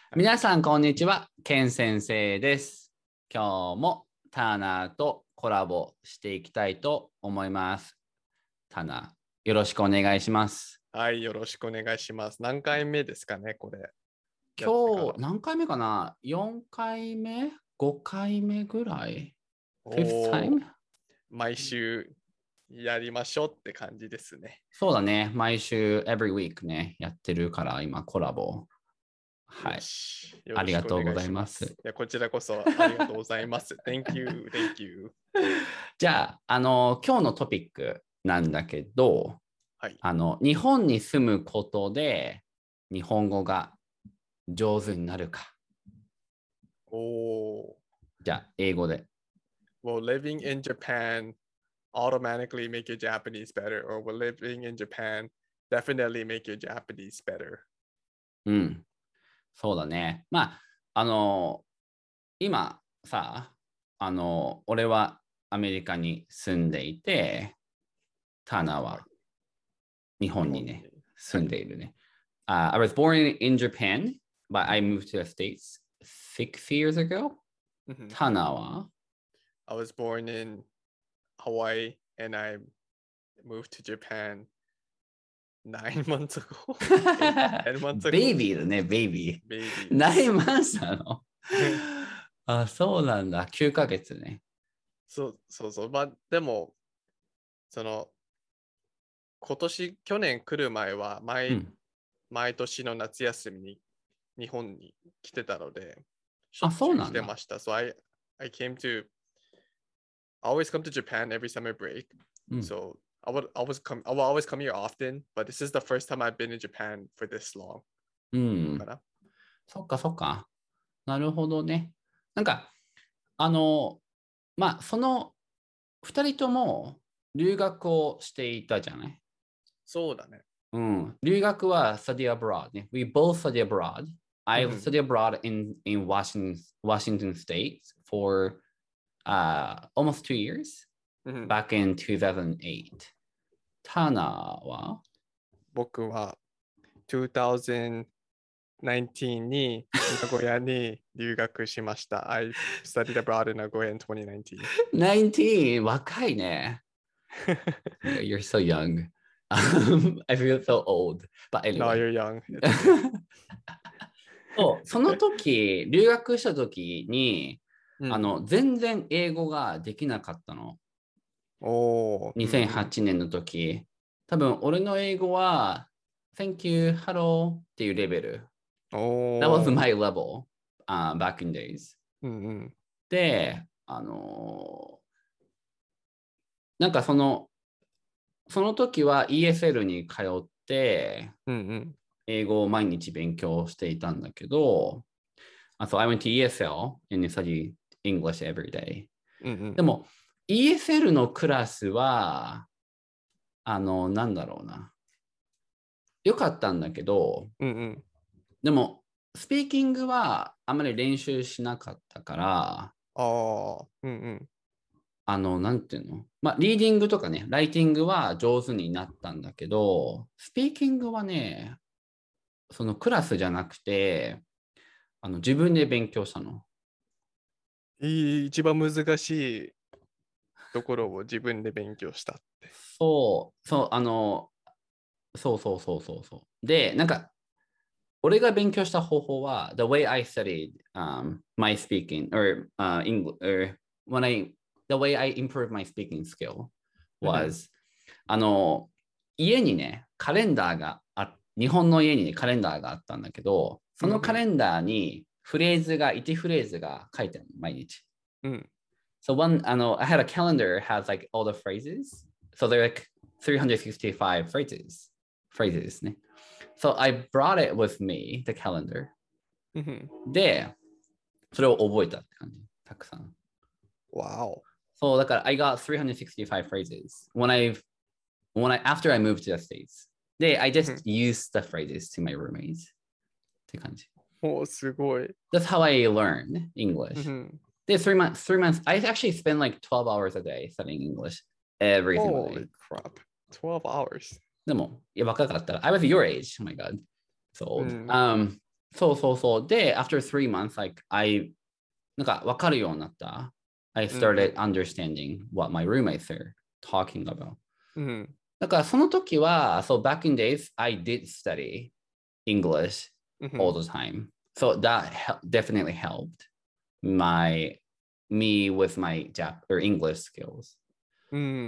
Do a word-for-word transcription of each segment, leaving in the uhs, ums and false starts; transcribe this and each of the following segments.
皆さん、こんにちは。ケン先生です。今日もターナーとコラボしていきたいと思います。ターナー、よろしくお願いします。 はい、よろしくお願いします。何回目ですかね、これ。 今日、何回目かな ?よん 回目 ?ご 回目ぐらい ?fifth time? 毎週やりましょうって感じですね。 そうだね。毎週、every week ね、やってるから、今、コラボ。はい。ありがとうございます。いや、こちらこそありがとうございます。Thank you, thank you. じゃあ、あの、今日のトピックなんだけど、 はい、 あの、日本に住むことで日本語が上手になるか。 おー。 じゃあ、英語で。 Will living in Japan automatically make your Japanese better? Or will living in Japan definitely make your Japanese better? うん。そうだね。まあ、あの、今さ、あの、俺はアメリカに住んでいて、ターナーは日本にね、住んでいるね。Uh, I was born in Japan, but I moved to the States six years ago. ターナーは I was born in Hawaii and I moved to Japan nine months ago. ten months ago. ベイビーだね、ベイビー。 ベイビー。 ナインマンスなのあ、そうなんだ。きゅうかげつね。 そうそうそう。まあ、でも、その、今年、去年来る前は毎、うん、毎年の夏休みに日本に来てたので、しょっちゅう来てました。So I, I came to, I always come to Japan every summer break. うん、so I would always come, I will always come here often, but this is the first time I've been in Japan for this long. うん。そっかそっか。なるほどね。なんか、あの、まあ、そのふたりとも留学をしていたじゃない？ そうだね。 うん。留学は study abroad ね。We both study abroad. I study abroad in, in Washington, Washington State for uh, almost two years, back in two thousand eight. ターナーは僕はにせんじゅうきゅうに名古屋に留学しました。I studied abroad in Nagoya in twenty nineteen. nineteen? 若いね。You're so young. Um, I feel so old. But anyway. No, you're young. そうその時、留学した時に、うん、あの全然英語ができなかったの。 おにせんはちねんの時。多分、俺の英語は、Thank you, hello っていうレベル。 お That was my level、uh, back in days、 うんうん。 で、あのー、なんかその、その時は イーエスエル に通って、 うんうん、 英語を毎日勉強していたんだけど、So I went to イーエスエル and studied English every day、うんうん。でも、イーエスエル のクラスは、あの、なんだろうな。よかったんだけど、 うんうん、 でも、スピーキングはあまり練習しなかったから、 あうんうん、 あの、なんていうのまあ、リーディングとかね、ライティングは上手になったんだけど、スピーキングはね、そのクラスじゃなくて、あの自分で勉強したの。 いい一番難しいところを自分で勉強したって。 そう、そう、あの、そうそうそうそうそう。で、なんか、俺が勉強した方法は、the way I studied、um, my speaking, or、uh, English, or when I, the way I improved my speaking skill was、あの、家にね、カレンダーがあ、日本の家に、ね、カレンダーがあったんだけど、そのカレンダーにフレーズが、いちフレーズが書いてあるの、毎日。 うん、 So one, あの、I had a calendar has like all the phrases. So they're like three hundred sixty-five phrases. Phrases ね。So I brought it with me, the calendar. で、それを覚えたって感じ。たくさん。 Wow. そう、だから I got three hundred sixty-five phrases when I, when I, after I moved to the States. で、I just used the phrases to my roommates. って感じ。 お、すごい。 That's how I learned English. で、three months, three months, I actually spend like twelve hours a day studying English every single day. Holy crap. twelve hours. でも、いや、若かったら、I was your age. Oh my god. So old.、うん、um, そうそうそう。で、after three months, like, I, なんか分かるようになった。I うん started understanding what my roommates are talking about. うん。 だからその時は、so back in days, I did study English うん all the time. So that hel- definitely helped my, me with my Jap or English skills. うんうん。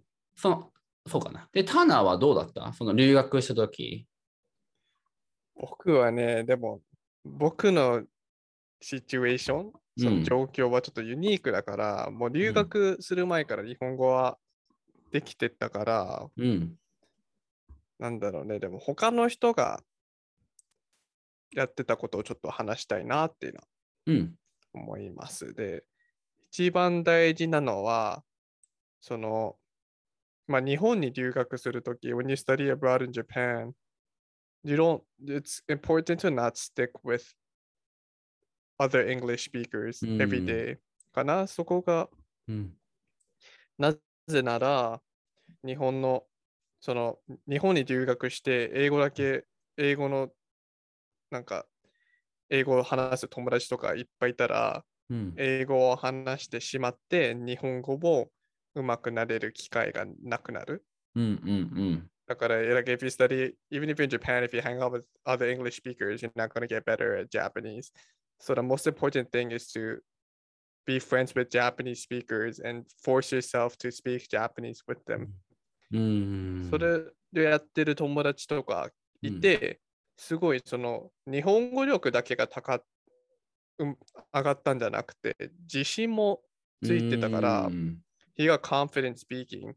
その、そうかな。で、ターナーはどうだったその留学した時。 僕はね、でも、僕のシチュエーション、その状況はちょっとユニークだから、もう留学する前から日本語はできてたから、 うん。 なんだろうね、でも他の人がやってたことをちょっと話したいなっていうのはうん。 思います。で、一番大事なのは、その、まあ、日本に留学するとき、when you study abroad in Japan, you don't, it's important to not stick with other English う speakers ん。 every day かな。そこが、 うん。 なぜなら、日本の、その、日本に留学して、英語だけ、英語の、なんか、英語を話す友達とかいっぱいいたら、 うん。 英語を話してしまって、日本語も上手くなれる機会がなくなる。 うん。うん。 だから、like if you study, even if you're in Japan, if you hang out with other English speakers, you're not going to get better at Japanese. So the most important thing is to be friends with Japanese speakers and force yourself to speak Japanese with them. うん。 それでやってる友達とかいて、すごいその日本語力だけが高っ、うん、上がったんじゃなくて、自信もついてたから、he got confident speaking.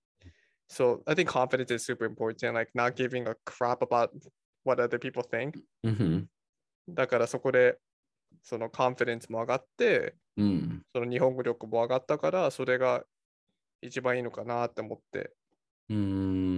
So I think confidence is super important, like not giving a crap about what other people think. うん。 だからそこでそのコンフィデンスも上がって、 うん。 その日本語力も上がったから、それが一番いいのかなって思って。 うん。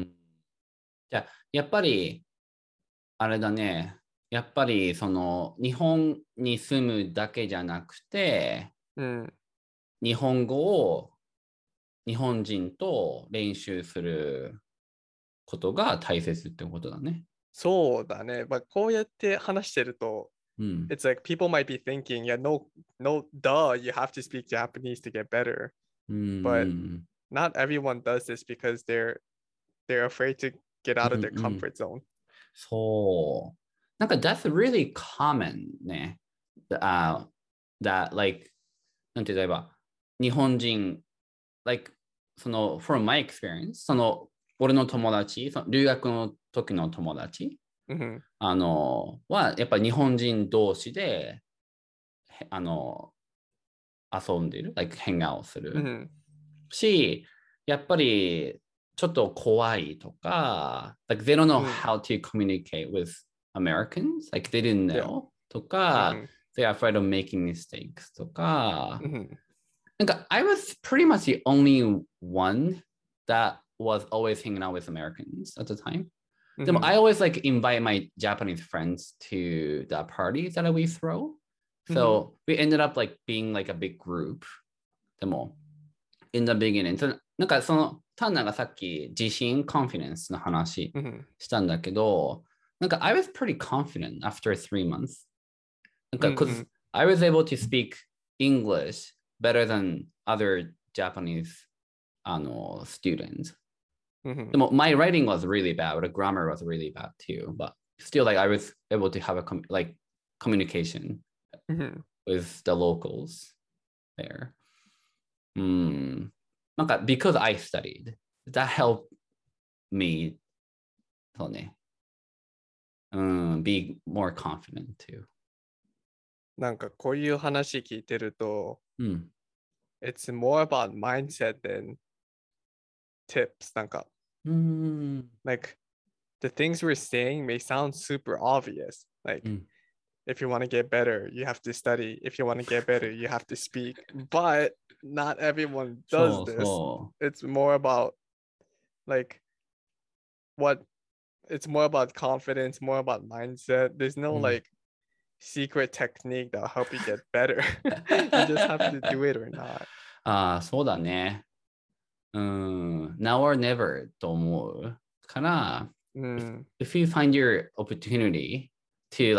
じゃあ、やっぱり、あれだね。やっぱり、その、日本に住むだけじゃなくて、 うん。 日本語を日本人と練習することが大切ってことだね。 そうだね。まあ、こうやって話してると、 うん。 It's like people might be thinking, yeah, no, no, duh, you have to speak Japanese to get better. うん。 But not everyone does this because they're they're afraid to get out of their うんうん comfort zone. そう。なんか、that's really common ね。Uh, that, like, なんて言えば、日本人、like, その、from my experience、その、俺の友達、その留学の時の友達、 うん。 あの、は、やっぱ日本人同士で、へあの、遊んでる、like, hang out すうるん。 し、やっぱり、ちょっと怖いとか、like, they don't know うん。 how to communicate with Americans, like, they didn't Yeah. know とうか、 ん。 they're afraid of making mistakes とか、 うん。 なんか、I was pretty much the only one that was always hanging out with Americans at the time. でも、I always like invite my Japanese friends to the parties that we throw. So we ended up like being like a big group. でも、in the beginning. そのなんかその、タンナがさっき自信、confidence の話したんだけど、なんか I was pretty confident after three months. なんか、because I was able to speak English better than other Japanese あの students. でも、my writing was really bad, the grammar was really bad too, but still, like, I was able to have a com- like communication with the locals there. うん。なんか、because I studied, that helped me, そうね。うん、be more confident too. なんかこういう話聞いてると、 うん。 It's more about mindset than tips. なんか、 うん。 like, the things we're saying may sound super obvious. Like, うん if you want to get better, you have to study. If you want to get better, you have to speak. But not everyone そ does う this. そ It's more about like what it's more about confidence, more about mindset. There's う。 no うん like secret technique that'll help you get better. You just have to do it or not. ああ、そうだね。うん。Now or never と思うから、 うん。 if you find your opportunity to like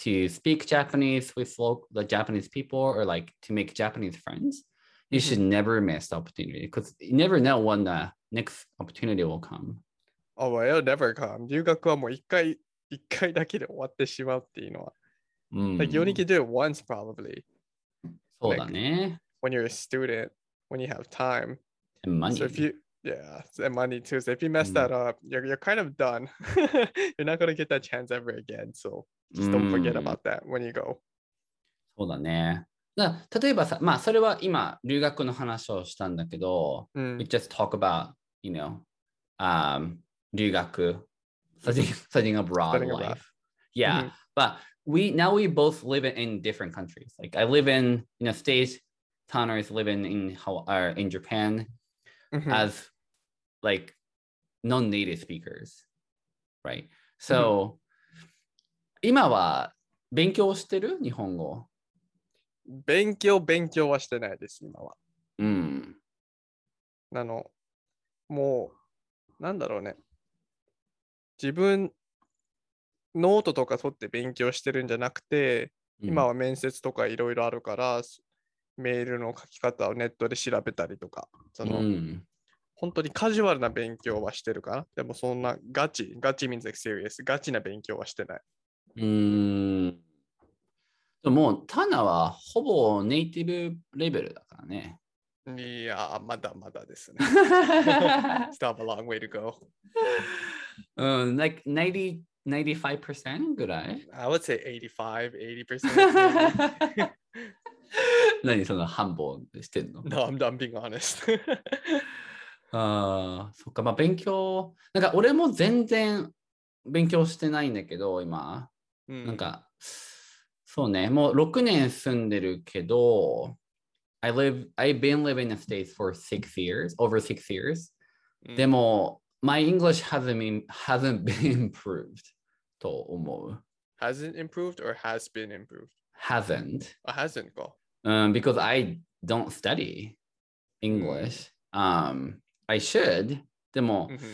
to speak Japanese with local, the Japanese people or like to make Japanese friends, you should never miss the opportunity because you never know when the next opportunity will come. Oh, well, it'll never come. 留学はもう一回、一回だけで終わってしまうっていうのは。 Mm. Like, you only can do it once, probably. そうだね。 When you're a student, when you have time. And money. So if you, yeah, and money too. So if you mess that up, you're, you're kind of done. You're not going to get that chance ever again. So just don't forget about that when you go. そうだね。だ例えばさ、まあそれは今留学の話をしたんだけど、 うん、 we just talk about, you know, um, 留学, studying, studying abroad Studying life. abroad. Yeah, Mhm. but we now we both live in different countries. Like I live in in a state, Tanner is living in uh, in Japan Mhm. as like non-native speakers, right? So、今は勉強してる日本語？ 勉強、勉強はしてないです、今は。 うん。 あの、もう、なんだろうね。自分、ノートとか取って勉強してるんじゃなくて、今は面接とかいろいろあるから、メールの書き方をネットで調べたりとか、その、うん、本当にカジュアルな勉強はしてるかな。でもそんなガチ、ガチ means like serious、ガチな勉強はしてない。 うーん。でもう、タナはほぼネイティブレベルだからね。 いや、まだまだですね。Still have a long way to go. うん、like ninety, ninety-five percent ぐらい I would say eighty-five, eighty percent. 何その半分してんの No, I'm, I'm being honest. ああ、そっか、まあ勉強、なんか俺も全然勉強してないんだけど、今。うん、なんか、そうね、もうろくねん住んでるけど、I live, I've been living in the States for six years, over six years. うん、でも、my English hasn't been, hasn't been improved と思う。 Hasn't improved or has been improved? Hasn't. Oh, hasn't か。 Um, because I don't study English. うん、um, I should. でも、mm-hmm.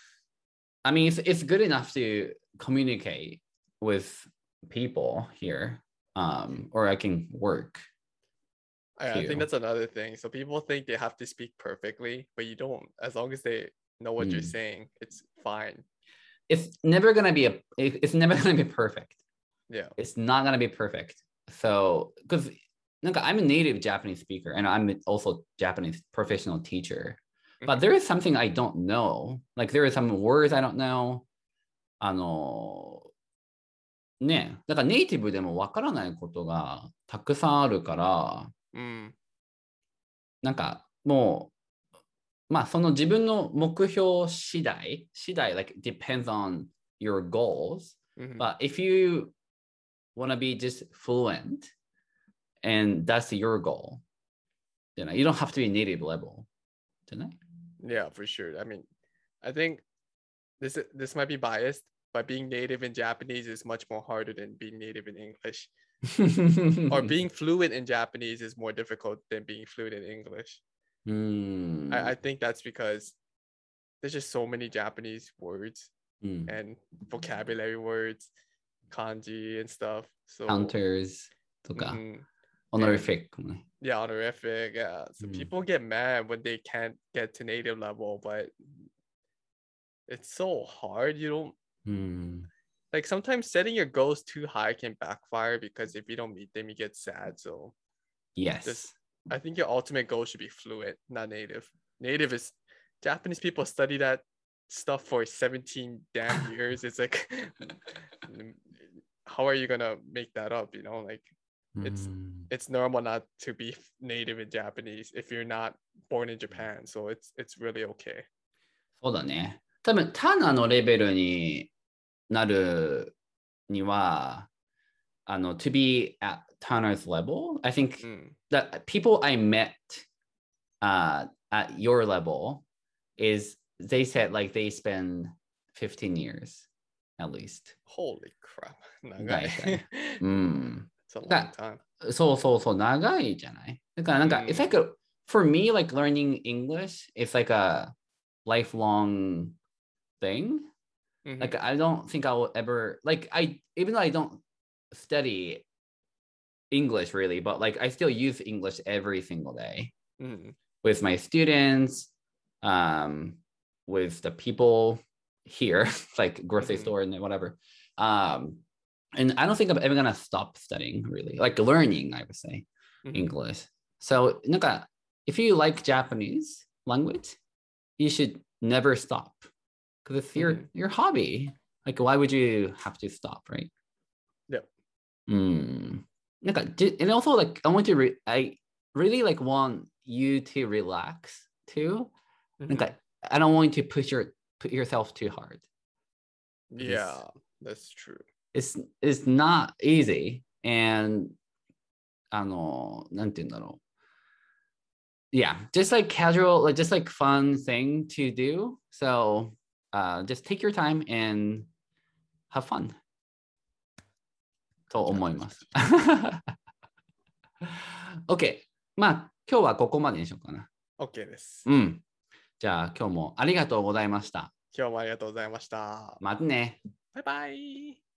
I mean, it's, it's good enough to communicate with people here, um, or I can work. I, I think that's another thing. So people think they have to speak perfectly, but you don't. As long as they know what mm. you're saying, it's fine. It's never gonna be a. It's never gonna be perfect. Yeah. It's not gonna be perfect. So, because I'm a native Japanese speaker, and I'm also Japanese professional teacher. But there is something I don't know. Like there are some words I don't know. あのね、だからネイティブでもわからないことがたくさんあるから、うん、なんかもう、まあその自分の目標次第、次第、like depends on your goals. Mm-hmm. But if you want to be just fluent and that's your goal, you know, you don't have to be native level. じゃない? Yeah, for sure. I mean, I think this this might be biased, but being native in Japanese is much more harder than being native in English. Or being fluent in Japanese is more difficult than being fluent in English. Mm. I, I think that's because there's just so many Japanese words mm. and vocabulary words, kanji and stuff. So counters, mm-hmm. honorific. And, yeah, honorific. Yeah. So mm. people get mad when they can't get to native level, but it's so hard. You don't mm. like sometimes setting your goals too high can backfire because if you don't meet them, you get sad. So yes, just, I think your ultimate goal should be fluent, not native. Native is Japanese people study that stuff for seventeen damn years. It's like, how are you gonna make that up? You know, like it's mm. it's normal not to be native in Japanese if you're not born in Japan. So it's it's really okay. そうだね。多分タナのレベルになるには、あの、to be at Tanner's level, I think mm. that people I met uh, at your level is they said like they spend fifteen years at least. Holy crap. 長い。 うん。 It's a long time. そうそうそう、長いじゃない。だからなんか、mm. it's like a, for me, like learning English, it's like a lifelong thing. Mm-hmm. Like I don't think I will ever like I even though I don't study English really, but like I still use English every single day mm. with my students, um, with the people here, like grocery mm-hmm. store and whatever. Um, and I don't think I'm ever gonna stop studying really, like learning, I would say, mm-hmm. English. So, なんか if you like Japanese language, you should never stop because it's your mm-hmm. your hobby. Like, why would you have to stop, right? Yeah. Mm. なんか and also like I want to re- I really like want you to relax too. Mm-hmm. なんか I don't want you to push your put yourself too hard. Yeah, that's true. It's it's not easy and あのなんて言うんだろう。Yeah, just like casual, like just like fun thing to do. So uh, just take your time and have fun. と思います。OK。まあ、今日はここまでにしようかな。 OK です。 うん。じゃあ、今日もありがとうございました。 今日もありがとうございました。 またね。 バイバイ。